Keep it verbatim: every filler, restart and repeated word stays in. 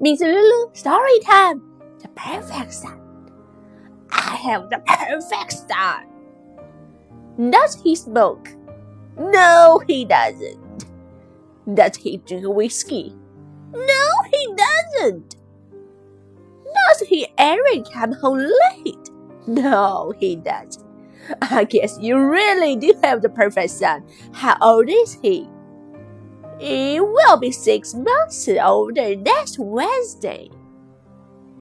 Miss Lulu, story time. The perfect son. I have the perfect son. Does he smoke? No, he doesn't. Does he drink whiskey? No, he doesn't. Does he ever come home late? No, he doesn't. I guess you really do have the perfect son. How old is he? He will be six months older next Wednesday.